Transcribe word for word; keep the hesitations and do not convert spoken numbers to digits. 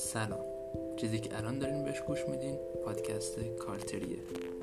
سلام. چیزی که الان دارین بهش گوش میدین پادکست کارتریه.